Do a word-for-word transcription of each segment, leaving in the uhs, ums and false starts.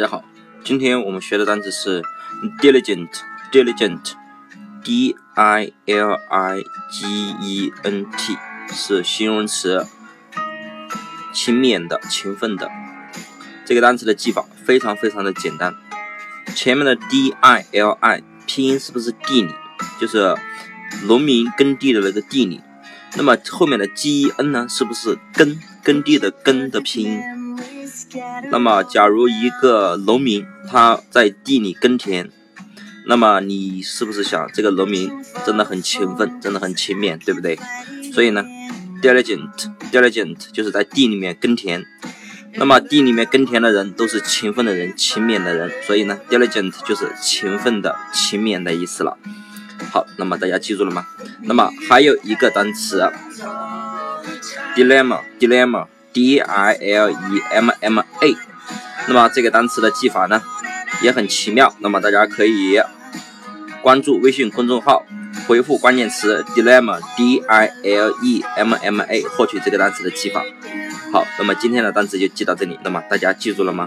家好，今天我们学的单词是 diligent diligent D I L I G E N T 是形容词，勤勉的、勤奋的。这个单词的记法非常非常的简单，前面的 D I L I 拼音是不是地理，就是农民耕地的那个地理，那么后面的 G E N 呢，是不是耕耕地的耕的拼音？那么假如一个农民他在地里耕田，那么你是不是想这个农民真的很勤奋，真的很勤勉，对不对？所以呢 diligent diligent 就是在地里面耕田，那么地里面耕田的人都是勤奋的人，勤勉的人，所以呢 diligent 就是勤奋的、勤勉的意思了。好，那么大家记住了吗？那么还有一个单词 dilemma dilemma D I L E M M A， 那么这个单词的记法呢也很奇妙，那么大家可以关注微信公众号，回复关键词 dilemma D I L E M M A 获取这个单词的记法。好，那么今天的单词就记到这里，那么大家记住了吗？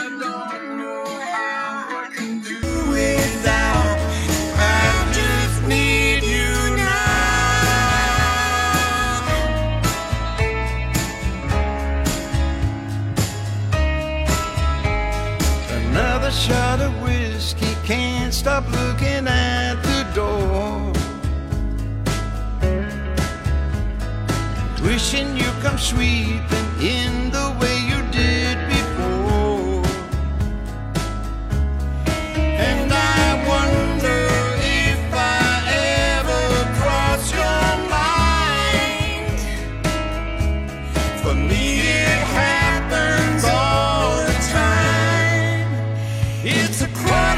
Shot of whiskey, can't stop looking at the door. Wishing you come sweeping in the way you did before. And I wonder if I ever cross your mind. For me it happens all the time. It's a crime.